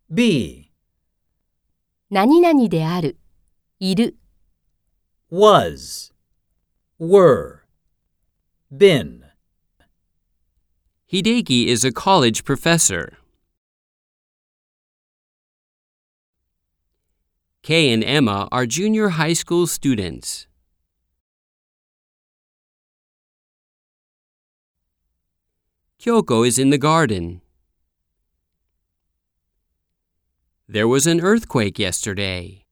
B 何々である、いる、 was, were, been. Hideki is a college professor. Kay and Emma are junior high school students. Kyoko is in the garden. There was an earthquake yesterday.